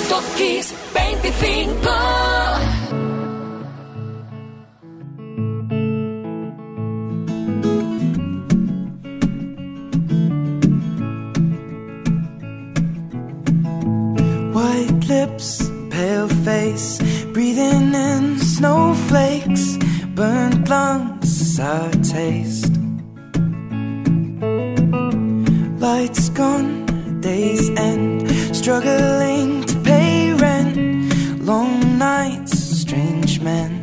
Top Kiss 25. White lips, pale face, breathing in snowflakes, burnt lungs, sour taste. Lights gone, days end, struggling to pay rent, long nights, strange men.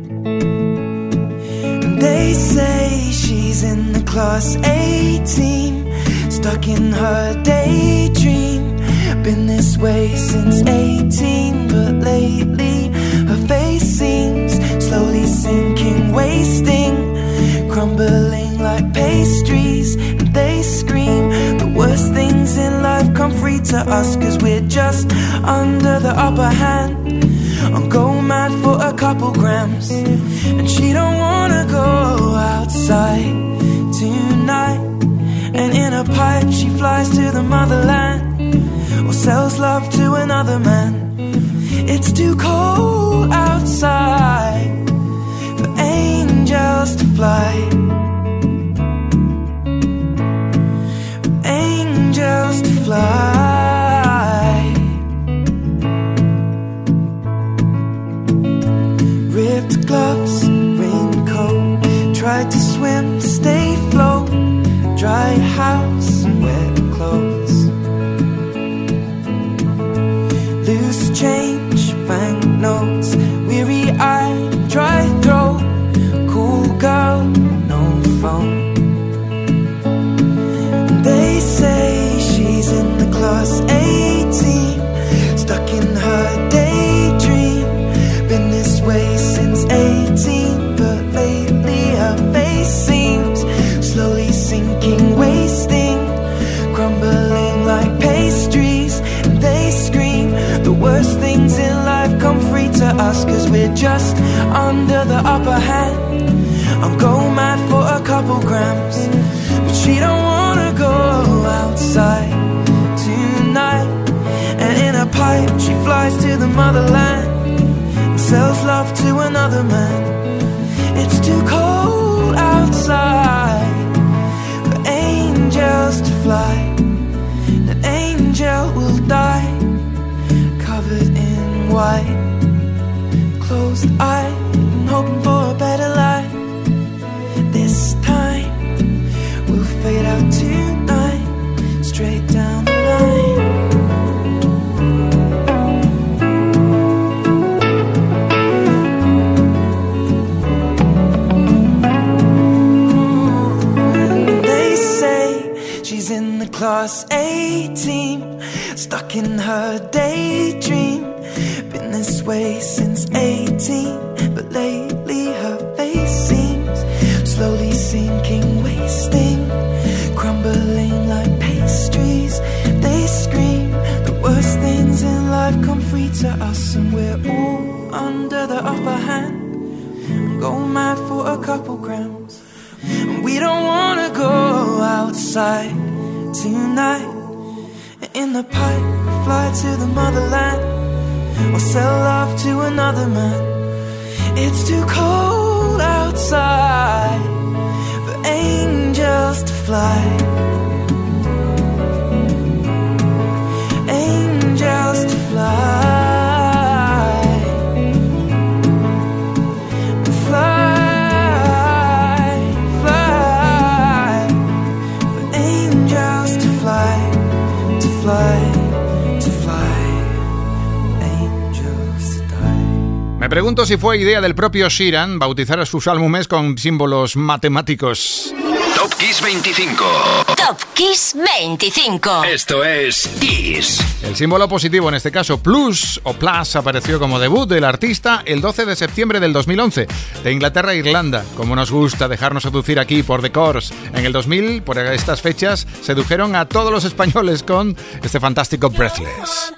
And they say she's in the class A team, stuck in her daydream. Been this way since 18, but lately her face seems slowly sinking, wasting, crumbling like pastries. And they scream the worst things in life come free to us, 'cause we're just under the upper hand. I'm going mad for a couple grams, and she don't wanna go outside tonight. And in a pipe she flies to the motherland, or sells love to another man. It's too cold outside for angels to fly, for angels to fly. Ripped gloves, raincoat, tried to swim, stay afloat, dry house and wet clothes. Loose change, banknotes, weary-eyed, dry throat, cool girl, no phone. They say she's in the class A team, stuck in her daydream. Been this way since 18, but lately her face seems slowly sinking, wasting, crumbling like pastries. And they scream the worst things in life come free to us, 'cause we're just under the upper hand. I'm going mad for a couple grams, but she don't wanna go outside tonight. And in a pipe she flies to the motherland, and sells love to another man. It's too cold outside for angels to fly. An angel will die, covered in white, closed eye, and hoping for a better life. This time we'll fade out tonight, straight down the line. They say she's in the class A team, stuck in her daydream. Been this way since 18, but lately her face seems slowly sinking, wasting, crumbling like pastries. They scream the worst things in life come free to us, and we're all under the upper hand. I'm going mad for a couple grams, and we don't wanna go outside tonight. In the pipe, fly to the motherland, or sell love to another man. It's too cold outside for angels to fly. Angels to fly. Fly, fly. For angels to fly, to fly. Me pregunto si fue idea del propio Sheeran bautizar a sus álbumes con símbolos matemáticos. Top Kiss 25. Top Kiss 25. Esto es Kiss. El símbolo positivo, en este caso Plus o Plus, apareció como debut del artista el 12 de septiembre del 2011, de Inglaterra a Irlanda. Como nos gusta dejarnos seducir aquí por The Corrs. En el 2000, por estas fechas, sedujeron a todos los españoles con este fantástico Breathless.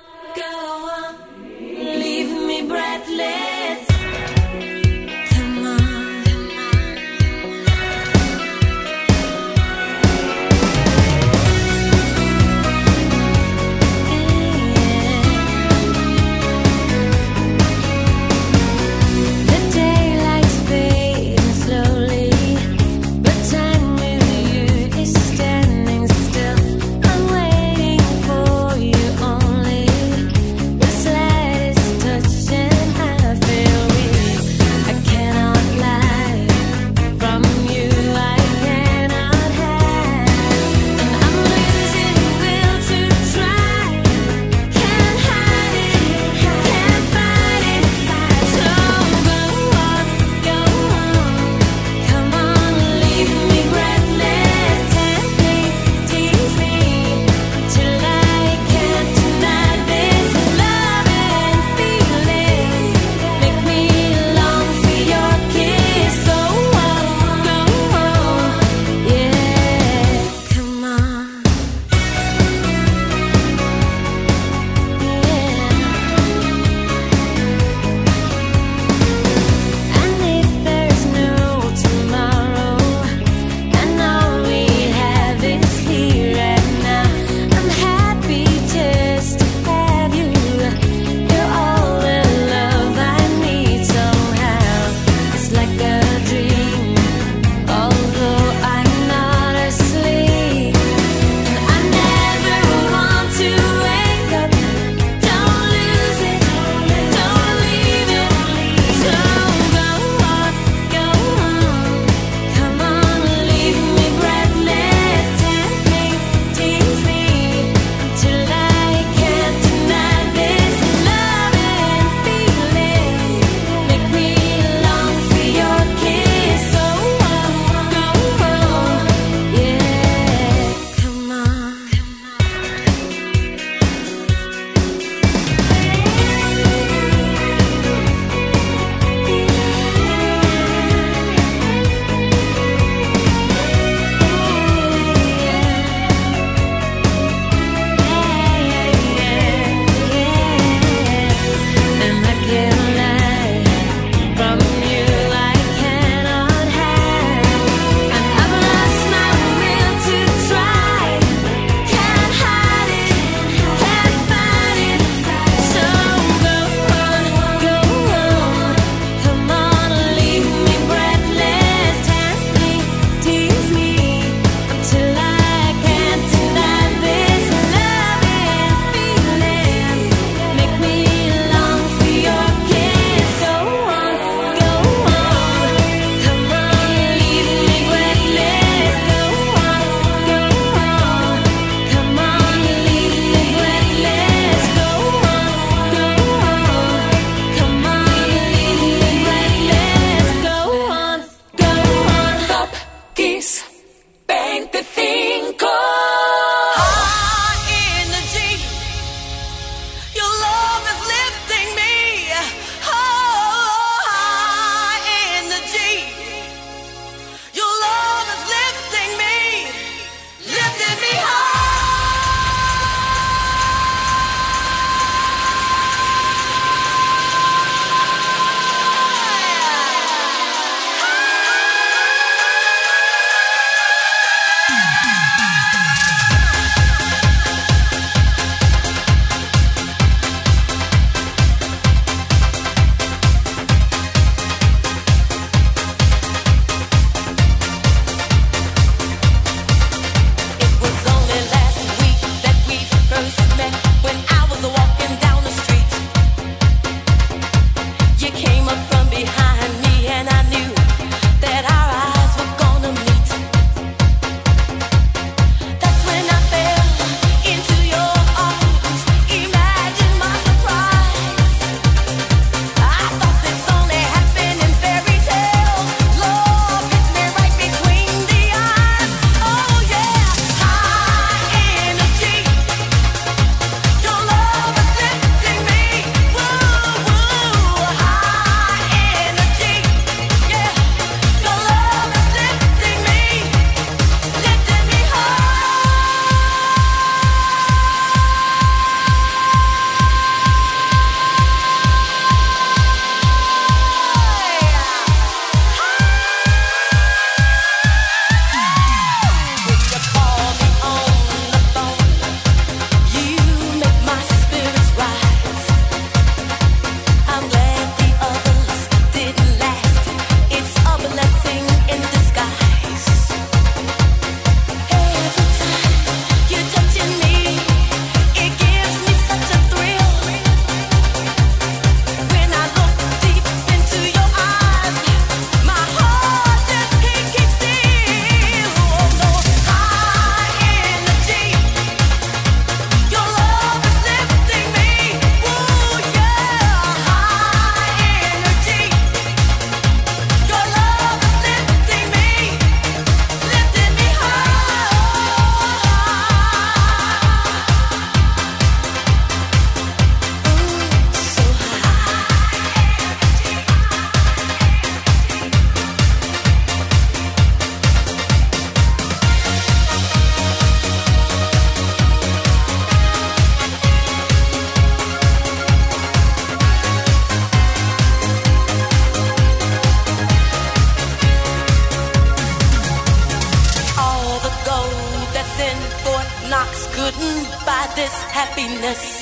happiness.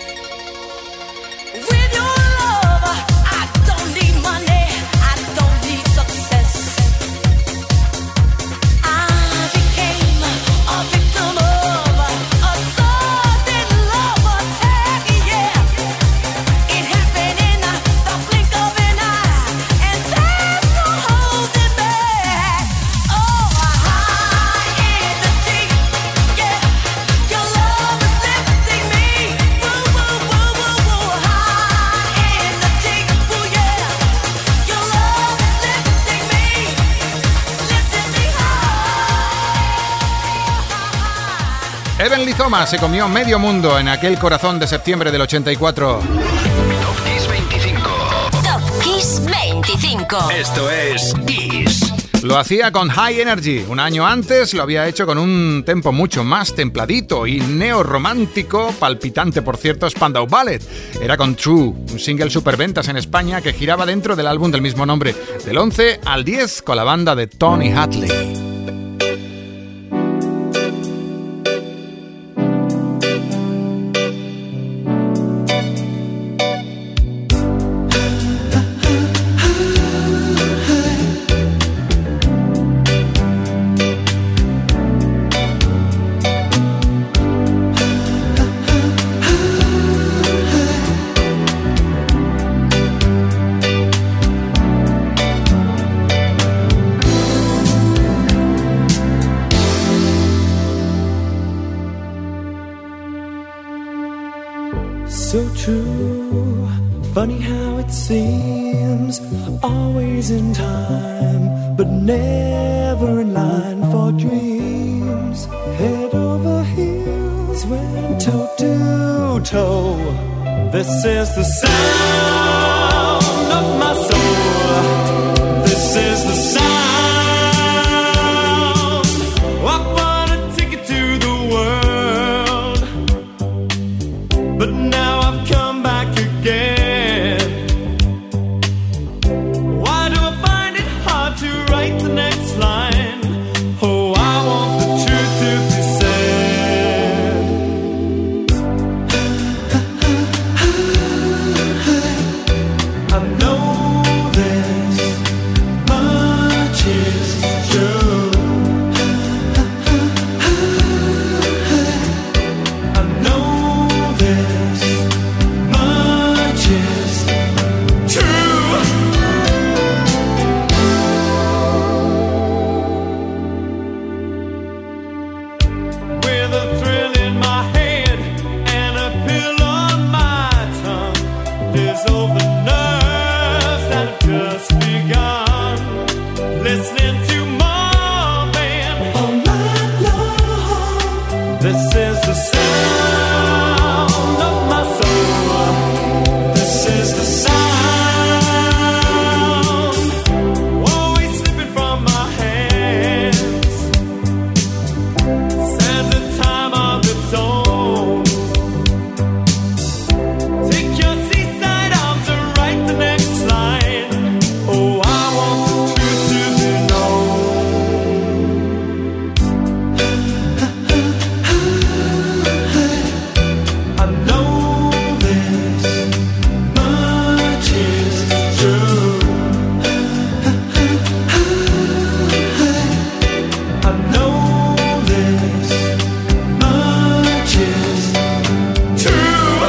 With your love, I don't need money, I don't need success. I became a victim of a sudden love attack, yeah. It happened in the blink of an eye, and there's no holding back. Oh, high in the deep, yeah. Your love is lifting me. Woo, woo, woo, woo, woo. High in the deep, woo, yeah. Your love is lifting me, lifting me high. Heavenly Thomas se comió medio mundo en aquel corazón de septiembre del 84. Top Kiss 25. Top Kiss 25. Esto es Kiss. Lo hacía con High Energy. Un año antes lo había hecho con un tempo mucho más templadito y neorromántico, palpitante por cierto, Spandau Ballet. Era con True, un single superventas en España que giraba dentro del álbum del mismo nombre, del 11 al 10 con la banda de Tony Hadley. So true, funny how it seems, always in time, but never in line for dreams. Head over heels, went toe to toe. This is the sound of my soul. This is the sound. I wanna take it to the world, but now I've come back again. Why do I find it hard to write the next line? Oh, I want the truth to be said. I know this much is true. I know this much is true. With a thrill in my head and a pill on my tongue, dissolve the nerves that have just begun. Listening to more than all night long. This is the sound of my soul. This is the sound, always slipping from my hands. Stands a time of its own. Take your seaside arms and write the next line. Oh, I want the truth to be known. I know this much is true. I know this much is true.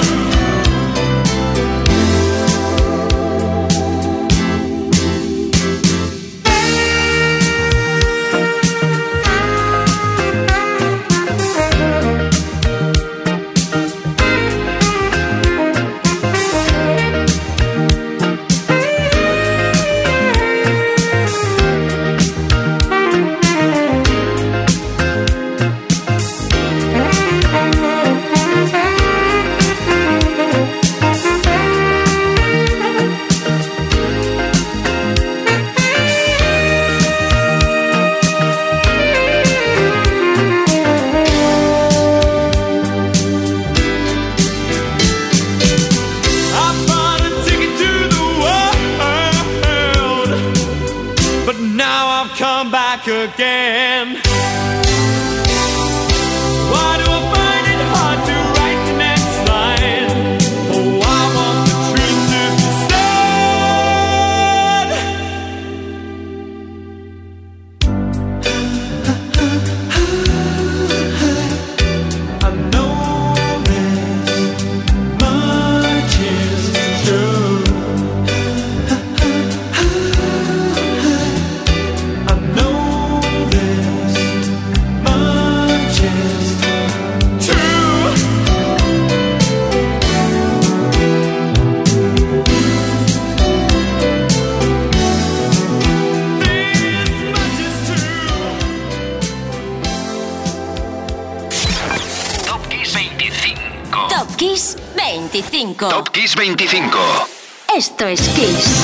I bought a ticket to the world, but now I've come back again. Why do I find it hard to write the next 25. Top Kiss 25. Esto es Kiss.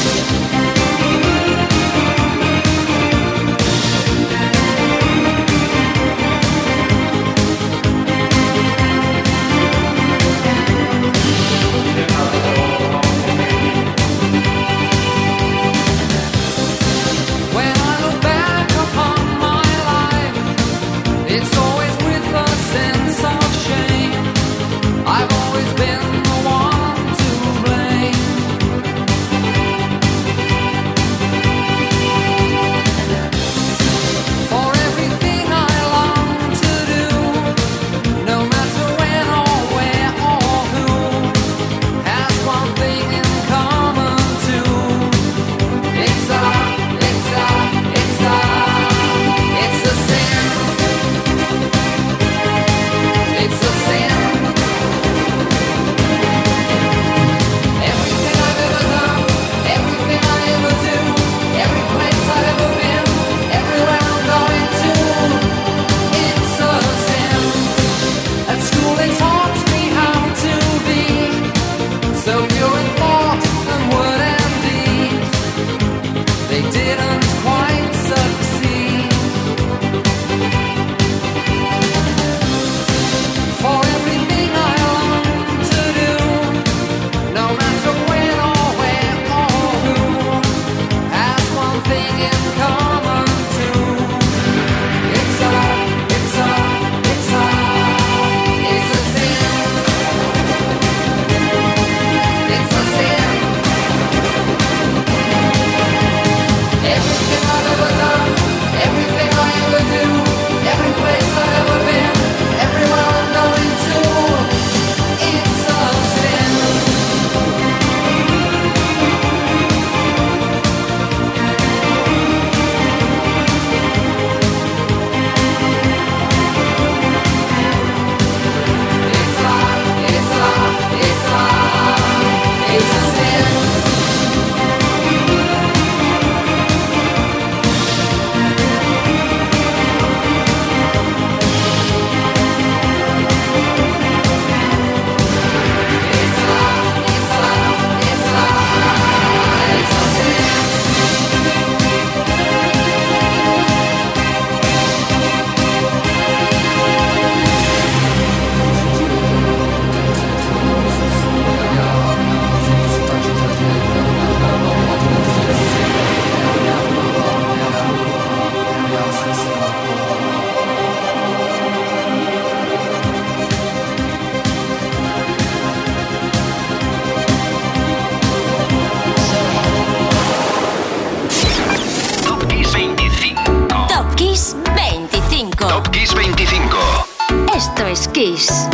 Kiss.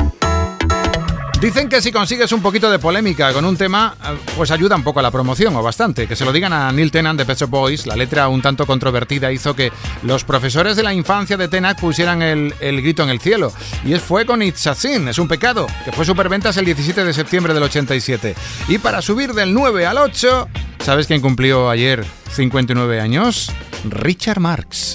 Dicen que si consigues un poquito de polémica con un tema, pues ayuda un poco a la promoción, o bastante. Que se lo digan a Neil Tennant de Pet Shop Boys. La letra un tanto controvertida hizo que los profesores de la infancia de Tennant pusieran el grito en el cielo. Y fue con It's a Sin, es un pecado, que fue superventas el 17 de septiembre del 87. Y para subir del 9 al 8, ¿sabes quién cumplió ayer 59 años? Richard Marx.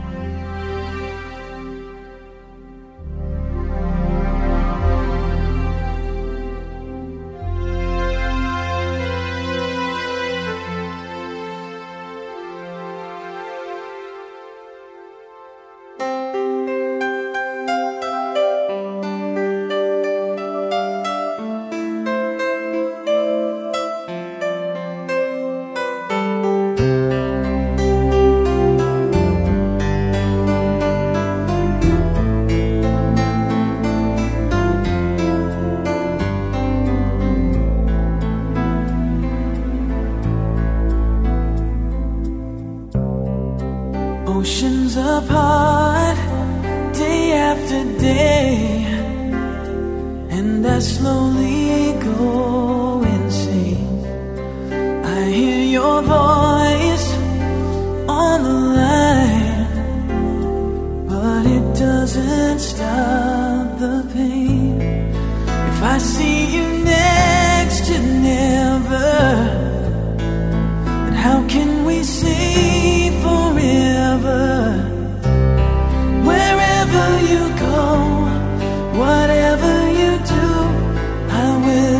Oceans apart, day after day, and I slowly go insane. I hear your voice on the line, but it doesn't stop the pain. If I see you next to never, then how can we say forever? Wherever you go, whatever you do, I will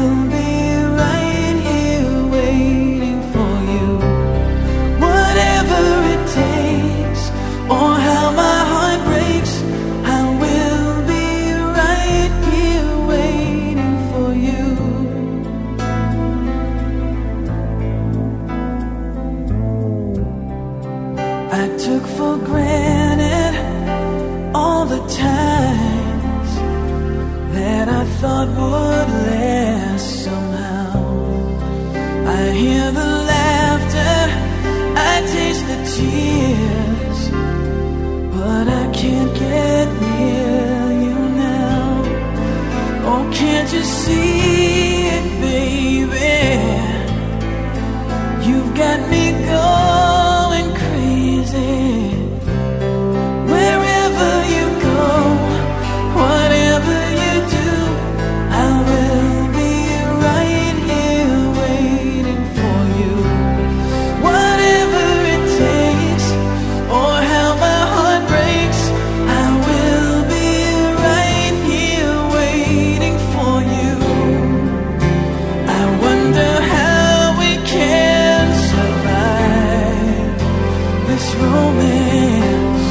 thought would last somehow. I hear the laughter, I taste the tears, but I can't get near you now. Oh, can't you see it, baby? You've got me going crazy. Wherever you go, whatever you do, I will be right here waiting for you. Whatever it takes, or how my heart breaks, I will be right here waiting for you. I wonder how we can survive this romance,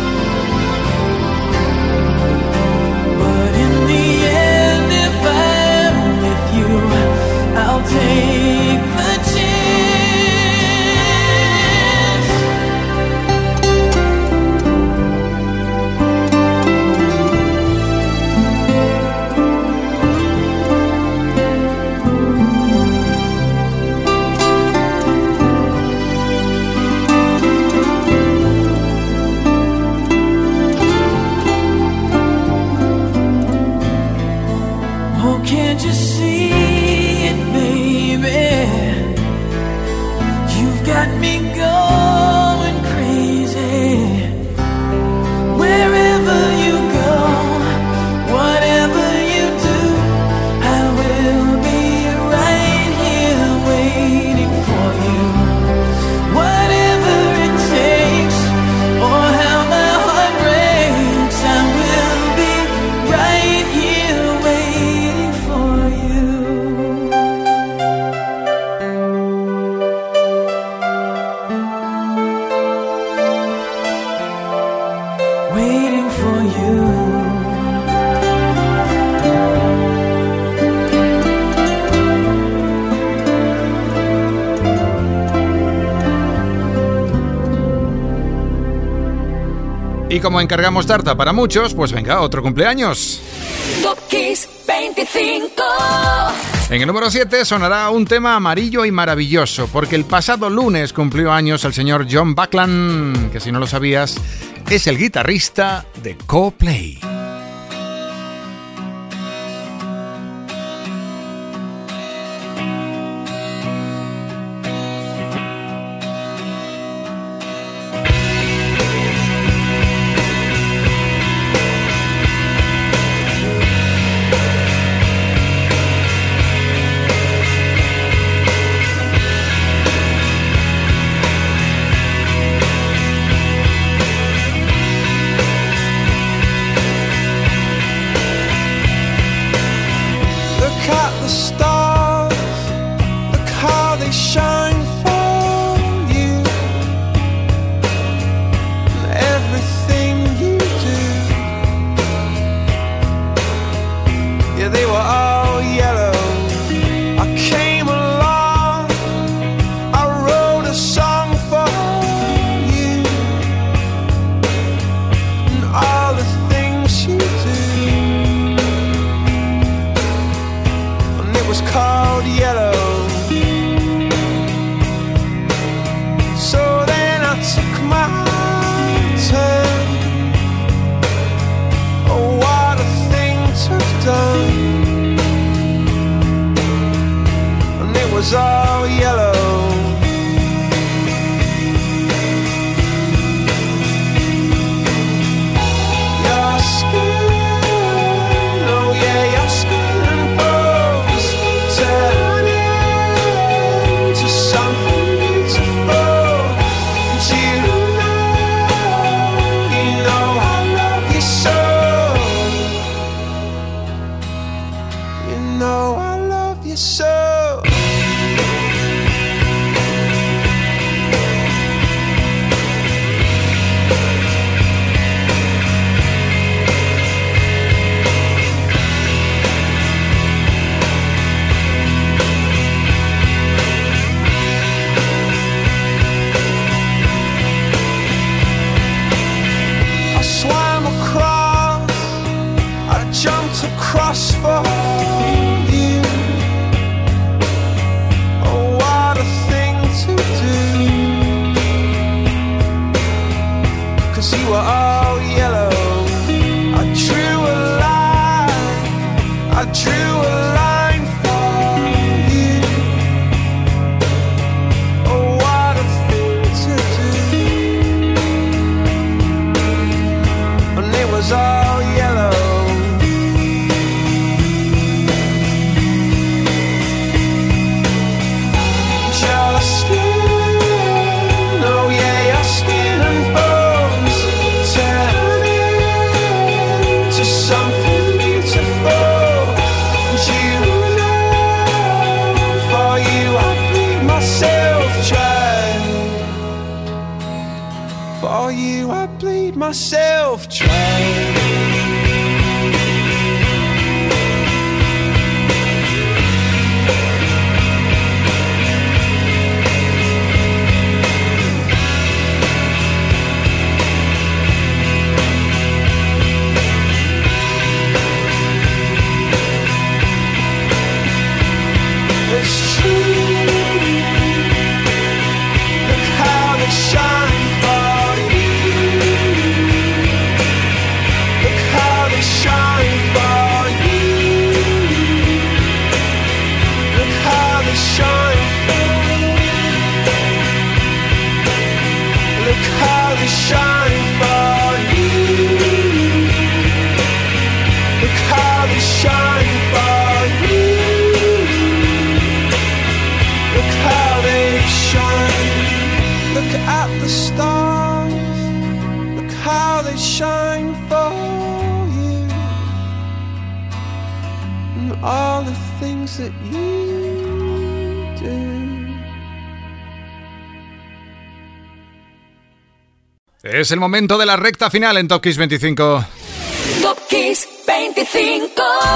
but in the end, if I'm with you, I'll take the chance. Oh, can't you see it, baby? You've got me going crazy. Wherever you go, whatever you do, I will be right here waiting for you. Whatever it takes, or how my heart breaks, I will be right here waiting for you. Waiting for you. Y como encargamos tarta para muchos, pues venga, otro cumpleaños. Top Kiss 25. En el número 7 sonará un tema amarillo y maravilloso, porque el pasado lunes cumplió años el señor John Buckland, que si no lo sabías, es el guitarrista de Coldplay. Look at the stars, look how they shine for you, and everything you do. Yeah, they were all yellow. I came along, I wrote a song for you, and all the things you do. Was called yellow. So then I took my turn. Oh, what a thing to have done. And it was all yellow. Your skin, oh yeah, your skin. So find myself trying. It's true. Look how they shine for you. Look how they shine for you. Look how they shine for you. Look how they shine for you. Look how they shine for you. Look how they shine. Look at the stars. Look how they shine for you. And all the things that you do. Es el momento de la recta final en Top Kiss 25. Top Kiss 25.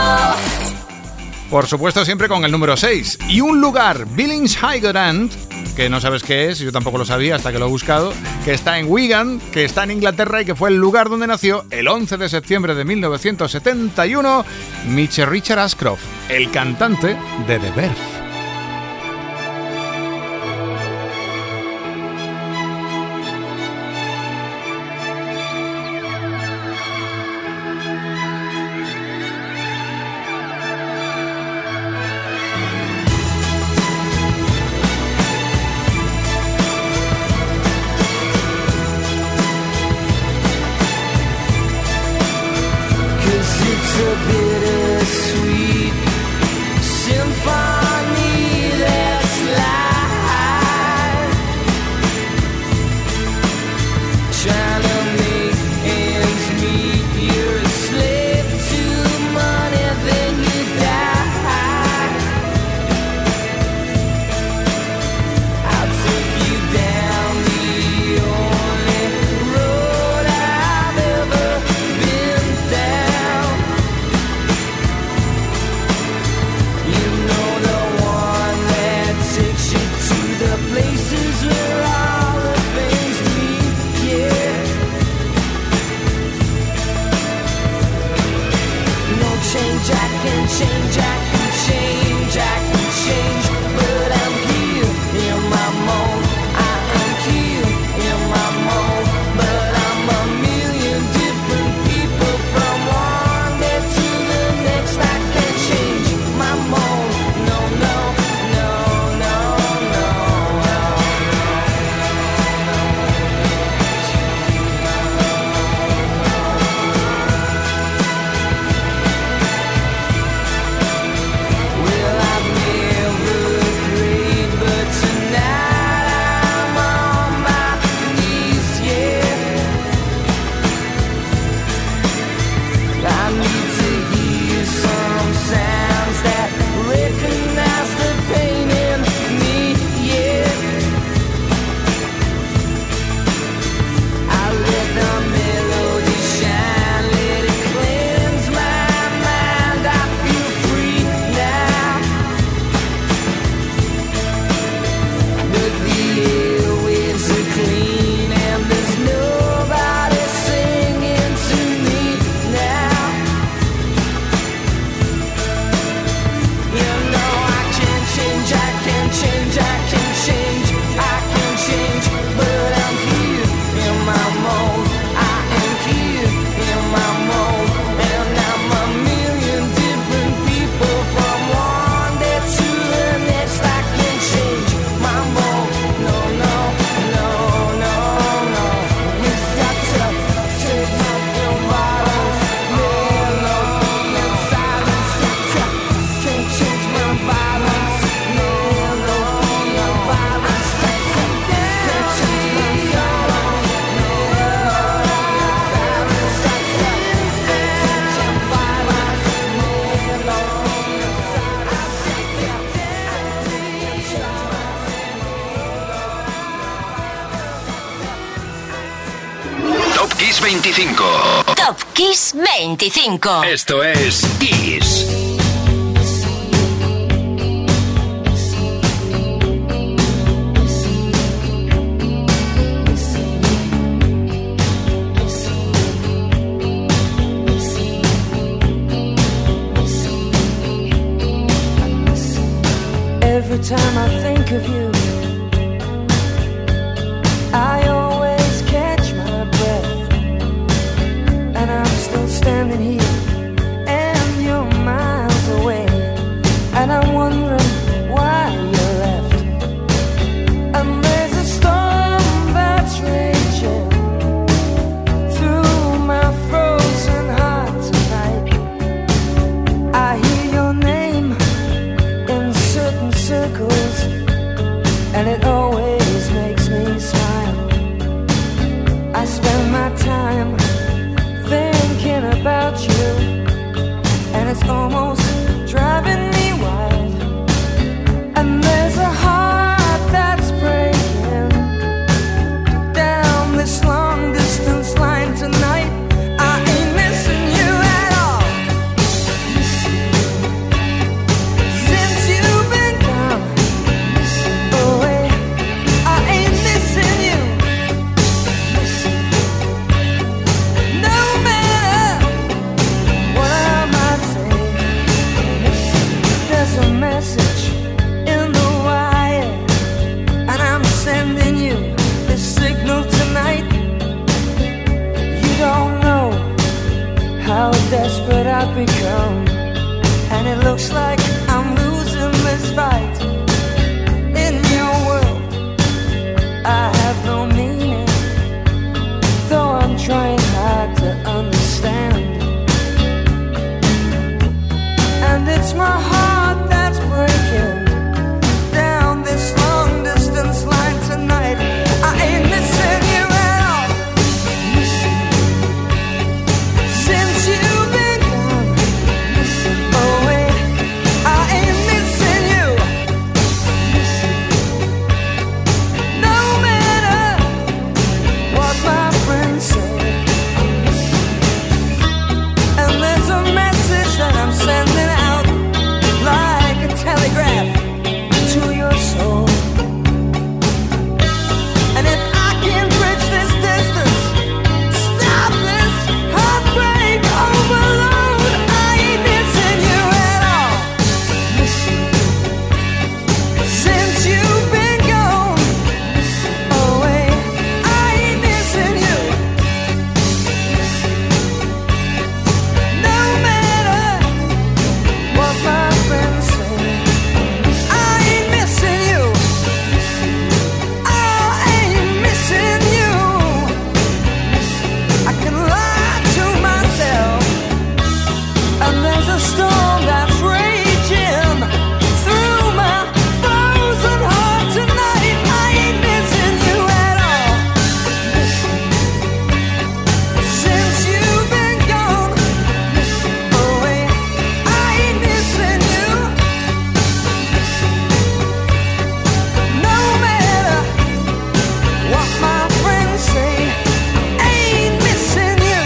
Por supuesto, siempre con el número 6. Y un lugar, Billings High Grand, que no sabes qué es, yo tampoco lo sabía hasta que lo he buscado, que está en Wigan, que está en Inglaterra y que fue el lugar donde nació el 11 de septiembre de 1971 Mitchell Richard Ashcroft, el cantante de The Verve. It's a bittersweet symphony. Kiss 25. Top Kiss 25. Esto es Kiss. Every time I think of you, I always catch my breath, and I'm still standing here, and you're miles away, and I'm wondering why you left. And there's a storm that's raging through my frozen heart tonight. I hear your name in certain circles, and it always makes me smile. I spend my time thinking about you, and it's almost driving me wild. And there's a heart that's breaking down this long distance line tonight. I ain't missing you at all. Since you've been gone away, I ain't missing you. No matter what I might say, there's a message in the wire, and I'm sending you this signal tonight. You don't know how desperate I've become, and it looks like I'm losing this fight. In your world, I have no meaning, though I'm trying hard to understand. And it's my heart that's breaking down this long distance line tonight. I ain't missing you at all. Since you've been gone away, I ain't missing you. No matter what my friends say. And there's a message that I'm sending out like a telegraph to your soul. And if I can bridge this distance, stop this heartbreak overload, I ain't missing you at all. Since you've been gone away, I ain't missing you. No matter what my friends say, I ain't missing you. I ain't missing you. I can lie to myself, and there's a storm that's raging through my frozen heart tonight. I ain't missing you at all. Since you've been gone away, I ain't missing you. No matter what my friends say, ain't missing you.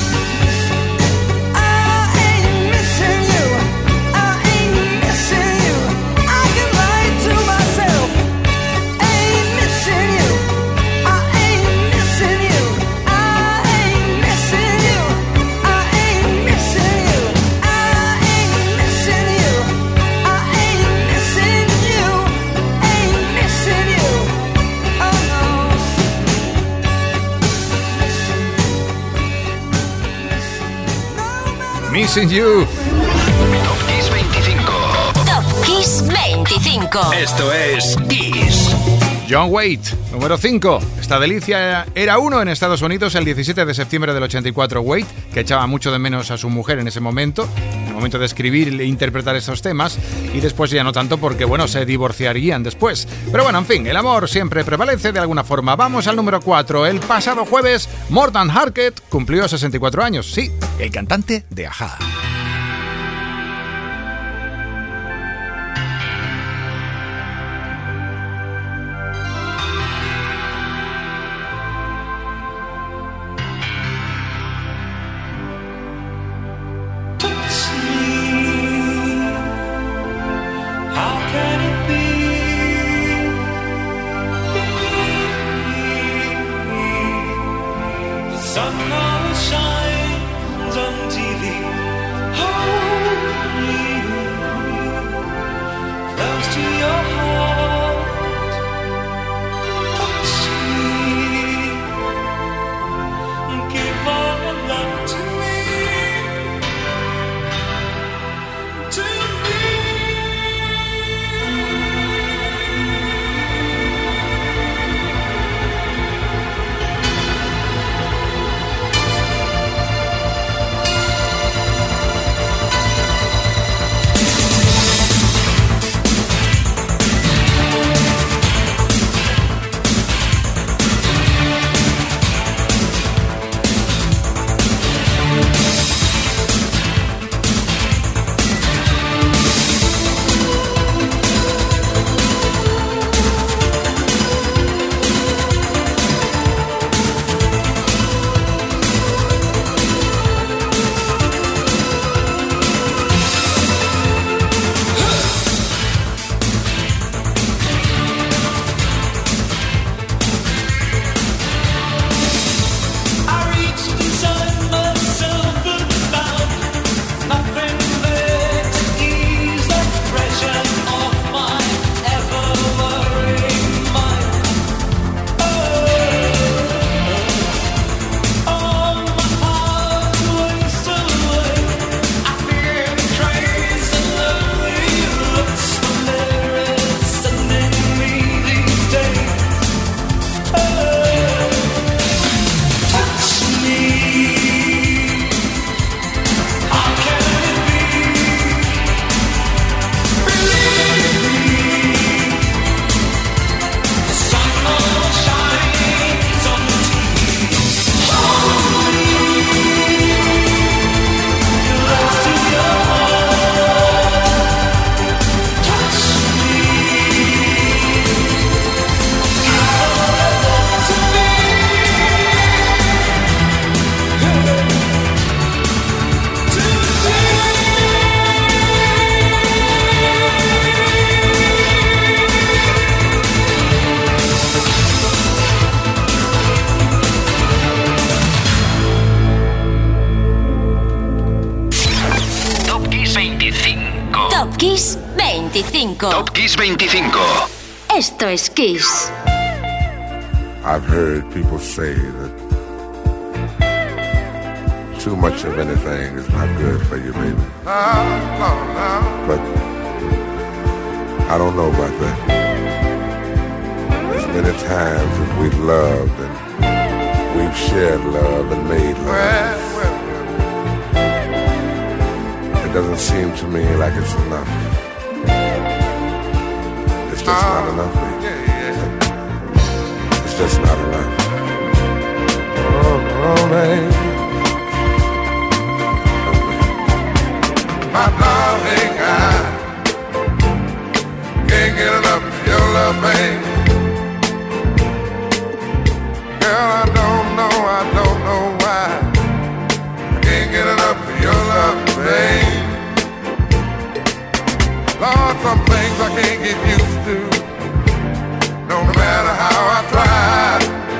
I ain't missing you. I ain't missing you. I can lie to myself. Ain't missing you. I ain't missing you. I ain't missing you. I ain't missing you. I ain't missing you. I ain't missing you. Ain't missing you. Oh no. Missing You. Top Kiss 25. Top Kiss 25. Esto es Kiss. John Waite, número 5. Esta delicia era uno en Estados Unidos el 17 de septiembre del 84. Waite, que echaba mucho de menos a su mujer en ese momento, en el momento de escribir e interpretar esos temas, y después ya no tanto porque, bueno, se divorciarían después. Pero bueno, en fin, el amor siempre prevalece de alguna forma. Vamos al número 4. El pasado jueves, Morten Harket cumplió 64 años. Sí, el cantante de A-ha. can it be? The sun now shines on TV. Hold me close to your heart. Touch me. Give all your love to me. To me. Top Kiss 25. Top Kiss 25. Esto es Kiss. I've heard people say that too much of anything is not good for you, baby. But I don't know about that. As many times as we've loved and we've shared love and made love, it doesn't seem to me like it's enough. It's just not enough, baby. It's just not enough. Oh, baby. My darling, I can't get enough of your love, baby. Girl, I don't know why I can't get enough of your love, baby. Lord, some things I can't get used to, no matter how I try.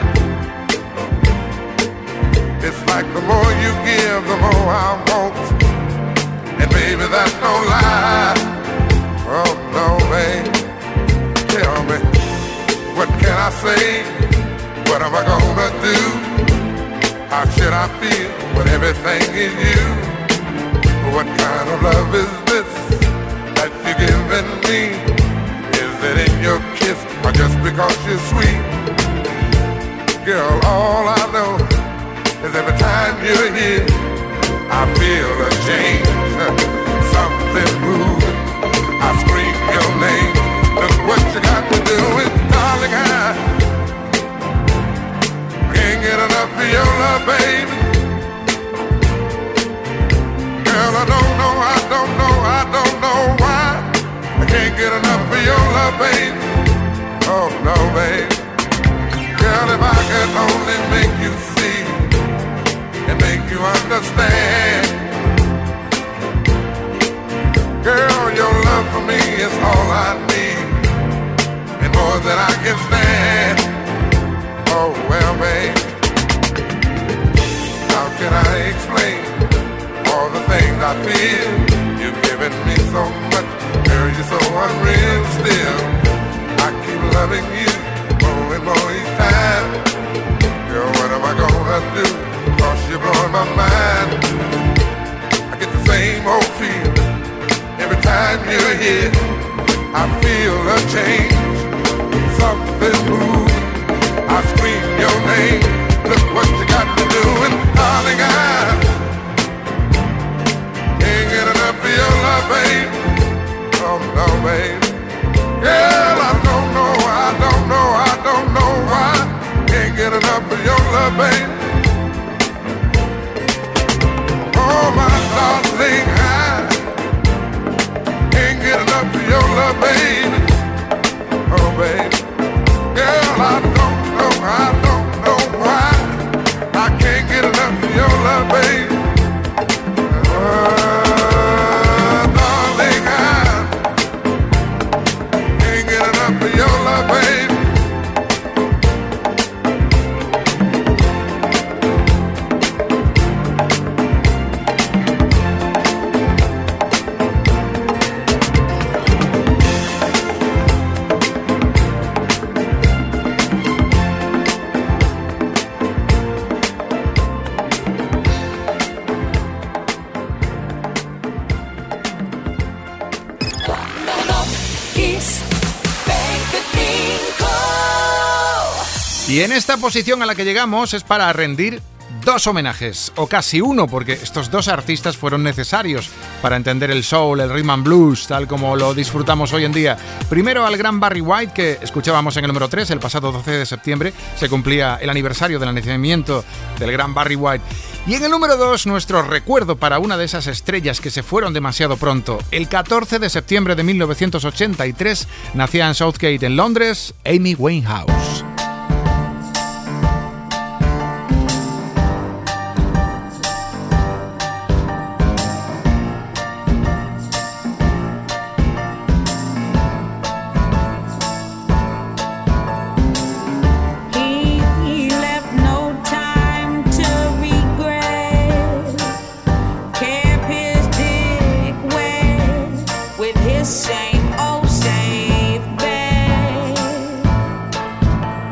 It's like the more you give, the more I want. And baby, that's no lie. Oh no, babe. Tell me, what can I say? What am I gonna do? How should I feel when everything is you? What kind of love is this that you're giving me? Is it in your kiss or just because you're sweet? Girl, all I know is every time you're here, I feel a change, something moving. I scream your name. Look what you got to do with, darling, I can't get enough of your love, baby. Girl, I don't know why I can't get enough of your love, baby. Oh no, baby. Girl, if I could only make you see and make you understand. Girl, your love for me is all I need, and more than I can stand. Oh, well, babe, how can I explain all the things I feel? You've given me so much, girl, you're so unreal still. I keep loving you more and more each time. Girl, what am I gonna do? 'Cause you're blowing my mind. I get the same old feeling every time you're here. I feel a change, something moves. I scream your name. Look what you got me doing, darling. I can't get enough of your love, babe. Oh no, babe. Girl, I don't know why. Can't get enough of your love, babe. Oh my darling, I can't get enough of your love, babe. Oh babe. Girl, I don't know why. I can't get enough of your love, babe. Darling, I can't get enough of your love, babe. Y en esta posición a la que llegamos es para rendir dos homenajes, o casi uno, porque estos dos artistas fueron necesarios para entender el soul, el rhythm and blues, tal como lo disfrutamos hoy en día. Primero al gran Barry White, que escuchábamos en el número 3, el pasado 12 de septiembre, se cumplía el aniversario del nacimiento del gran Barry White. Y en el número 2, nuestro recuerdo para una de esas estrellas que se fueron demasiado pronto. El 14 de septiembre de 1983 nacía en Southgate, en Londres, Amy Winehouse. Same old safe bed.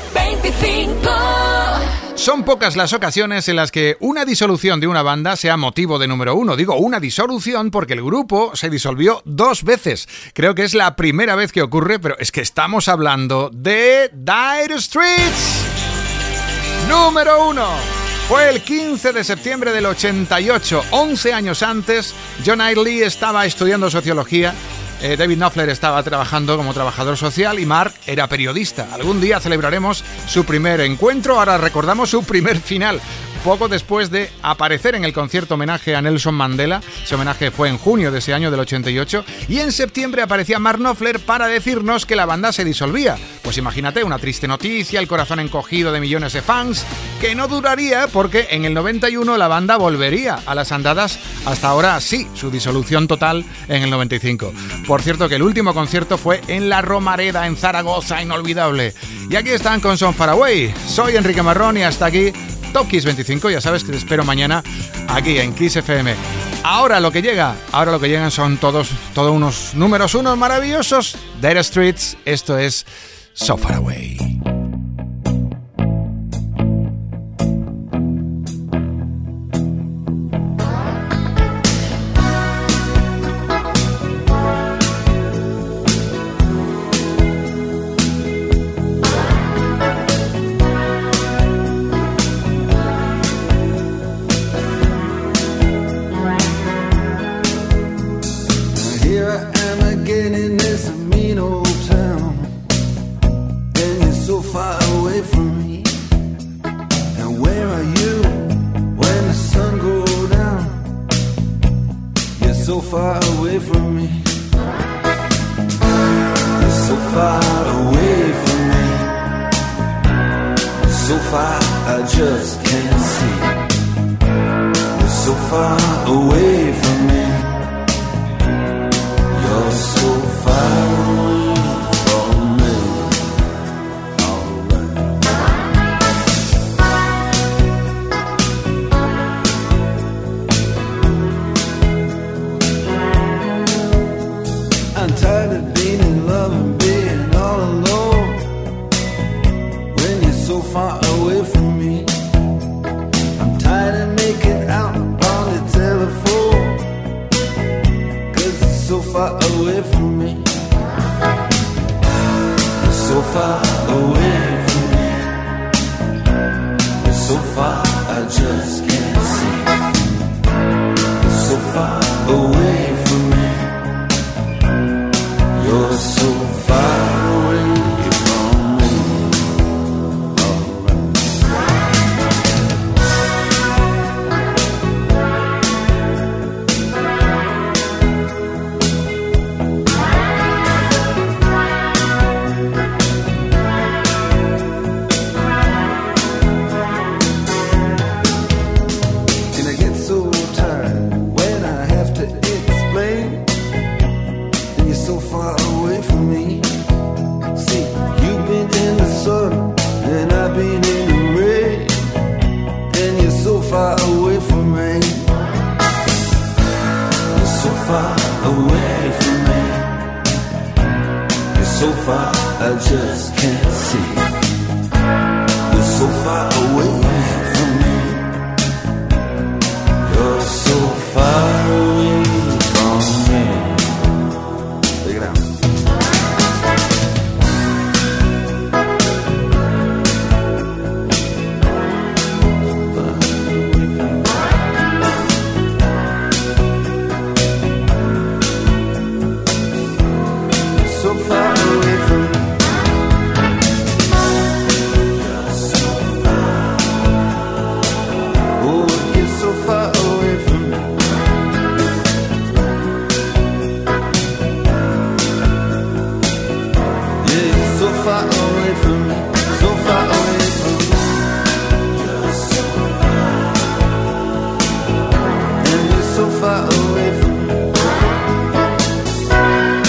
25. Son pocas las ocasiones en las que una disolución de una banda sea motivo de número uno. Digo una disolución porque el grupo se disolvió 2 veces. Creo que es la primera vez que ocurre, pero es que estamos hablando de Dire Straits. Número 1. Fue el 15 de septiembre del 88. 11 años antes, John Idley estaba estudiando sociología. David Knopfler estaba trabajando como trabajador social y Mark era periodista. Algún día celebraremos su primer encuentro, ahora recordamos su primer final. Poco después de aparecer en el concierto homenaje a Nelson Mandela, ese homenaje fue en junio de ese año del 88, y en septiembre aparecía Mark Knopfler para decirnos que la banda se disolvía. Pues imagínate, una triste noticia, el corazón encogido de millones de fans, que no duraría porque en el 91 la banda volvería a las andadas, hasta ahora sí, su disolución total en el 95. Por cierto que el último concierto fue en la Romareda, en Zaragoza, inolvidable. Y aquí están con Son Far Away. Soy Enrique Marrón y hasta aquí Top Kiss 25, ya sabes que te espero mañana aquí en Kiss FM. Ahora lo que llegan son todos unos números unos maravillosos. Dire Straits, esto es So Far Away.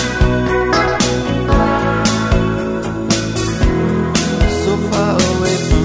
So far away from